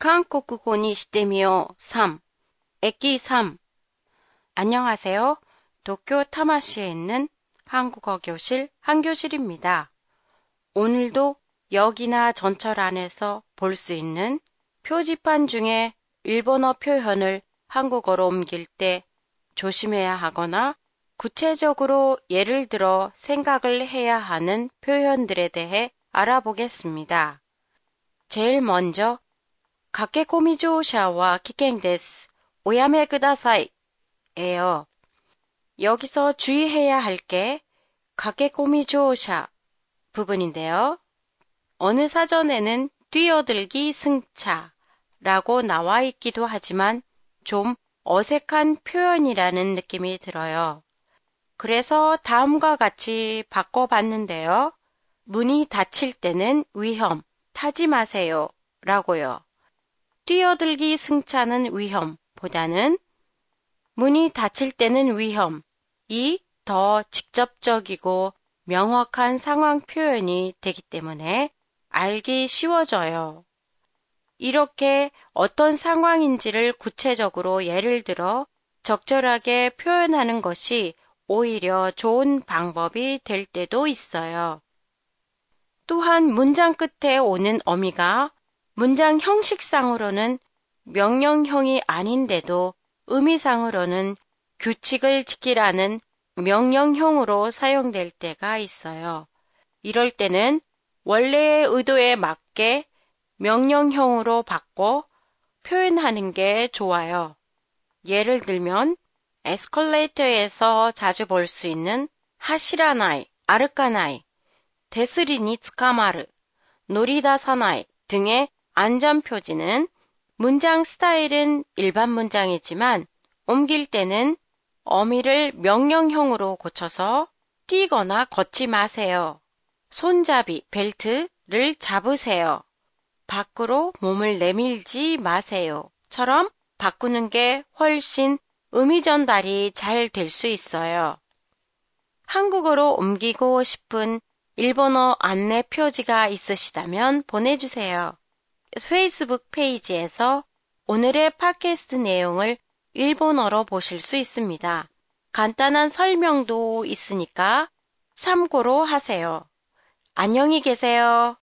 한국어にしてみよう 3. 액기 3. 안녕하세요. 도쿄 타마시에 있는 한국어 교실 한교실입니다. 오늘도 역이나 전철 안에서 볼 수 있는 표지판 중에 일본어 표현을 한국어로 옮길 때 조심해야 하거나 구체적으로 예를 들어 생각을 해야 하는 표현들에 대해 알아보겠습니다. 제일 먼저駆け込み 乗車は 危険です. 오야메 쿠다사이 예요. 여기서 주의해야 할 게駆け込み 乗車 부분인데요. 어느 사전에는 뛰어들기 승차라고 나와 있기도 하지만 좀 어색한 표현이라는 느낌이 들어요. 그래서 다음과 같이 바꿔봤는데요. 문이 닫힐 때는 위험, 타지 마세요 라고요. 뛰어들기 승차는 위험보다는 문이 닫힐 때는 위험이 더 직접적이고 명확한 상황 표현이 되기 때문에 알기 쉬워져요. 이렇게 어떤 상황인지를 구체적으로 예를 들어 적절하게 표현하는 것이 오히려 좋은 방법이 될 때도 있어요. 또한 문장 끝에 오는 어미가 문장 형식상으로는 명령형이 아닌데도 의미상으로는 규칙을 지키라는 명령형으로 사용될 때가 있어요. 이럴 때는 원래의 의도에 맞게 명령형으로 바꿔 표현하는 게 좋아요. 예를 들면 에스컬레이터에서 자주 볼 수 있는 하시라나이, 아르카나이, 데스리니 츠카마르, 노리다사나이 등의 안전표지는 문장 스타일은 일반 문장이지만 옮길 때는 어미를 명령형으로 고쳐서 뛰거나 걷지 마세요. 손잡이, 벨트를 잡으세요. 밖으로 몸을 내밀지 마세요. 처럼 바꾸는 게 훨씬 의미 전달이 잘 될 수 있어요. 한국어로 옮기고 싶은 일본어 안내 표지가 있으시다면 보내주세요. 페이스북 페이지에서 오늘의 팟캐스트 내용을 일본어로 보실 수 있습니다. 간단한 설명도 있으니까 참고로 하세요. 안녕히 계세요.